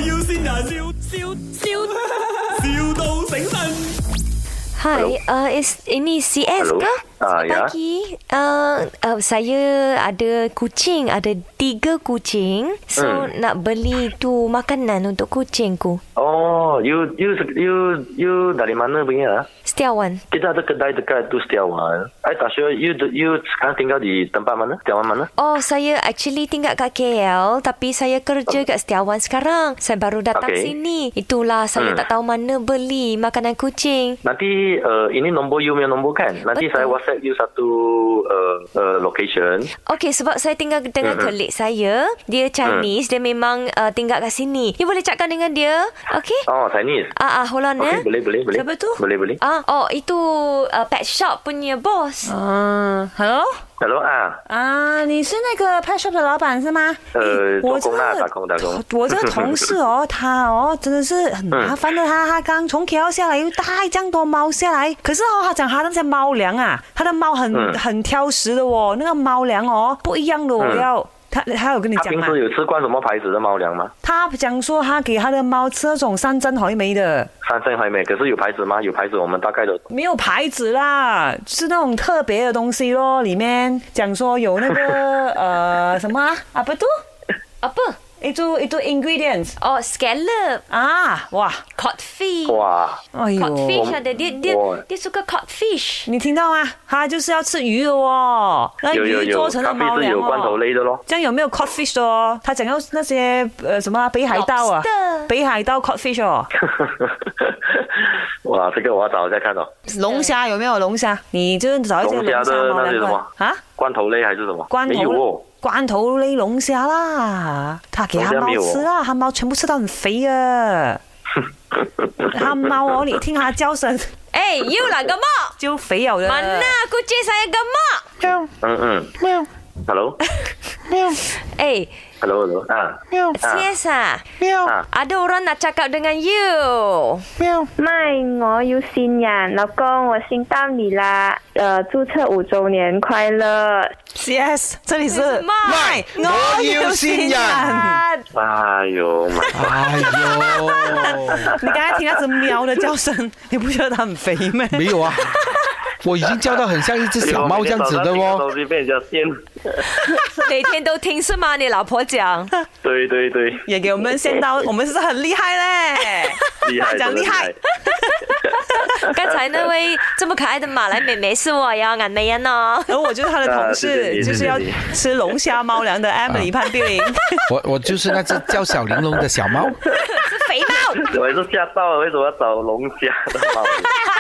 要先人，笑到醒神。 Hai, ini CS Halo? ke? Ya. Pagi. Saya ada kucing, ada 3 kucing. So nak beli tu makanan untuk kucingku. Oh, you dari mana punya? Setiawan. Kita ada kedai dekat tu Setiawan. I tak sure you sekarang tinggal di tempat mana? Setiawan mana? Oh, saya actually tinggal kat KL tapi saya kerja kat Setiawan sekarang. Saya baru datang sini. Itulah saya tak tahu mana beli makanan kucing. Nanti ini nombor you punya nombor kan? Nanti Betul. saya WhatsApp you satu location. Okey, sebab saya tinggal dengan colleague saya. Dia Chinese. Dia memang tinggal kat sini. You boleh cakap dengan dia. Okey? Oh, Chinese. Hold on Okay, boleh. Siapa tu? Boleh. Itu pet shop punya boss. Hello？ Hello 你是那个 pet shop 的老板是吗？ 做工啦，打工。 我这个同事他真的是很麻烦的，他刚从 KL 下来，又带这样多猫下来，可是他讲他那些猫粮啊，他的猫很挑食的那个猫粮不一样的要。他有跟你讲吗？ 他平时有吃惯什么牌子的猫粮吗？ 他讲说他给他的猫吃那种山珍海味的。 山珍海味，可是有牌子吗？有牌子，我们大概的。 没有牌子啦，是那种特别的东西咯。里面讲说有那个什么apa tu？ Apa? Itu ingredients Scallop. wah Codfish. 哇， 哎呦 Codfish ada. Dia suka codfish. 你听到吗？他就是要吃鱼的那鱼有做成了猫粮咖啡是有罐头类的咯。 这样有没有 codfish 的他讲要那些什么北海道啊 Lobster 北海道 codfish 哇，这个我要找一下看哦。 龙虾有没有龙虾？你就是找一些龙虾的猫粮那是什么？罐头类还是什么？ 罐头没有哦。 罐头类龙虾啦，他给他猫吃啊，他猫全部吃到很肥啊。他猫你听他叫声， You lah gemuk. 就肥了的。 Mana kucing saya gemuk? Hello Hello CS ada orang nak cakap dengan you. 麦，我要新人，老公，我新到你啦，注册5周年快乐。 CS 这里是麦我要新人。 哎呦你刚才听那只喵的叫声，你不觉得它很肥吗？ 没有啊，我已经叫到很像一只小猫这样子的哦。 东西被人家掀。 每天都听是吗？你老婆讲。 对， 也给我们先到，我们是很厉害嘞， 厉害， 讲厉害。 刚才那位这么可爱的马来妹妹是我呀，眼美人哦。 然后我就是他的同事，就是要吃龙虾猫粮的 Emily 潘碧玲。 我就是那只叫小玲珑的小猫。 是肥猫。 我也是吓到了，为什么要找龙虾的猫？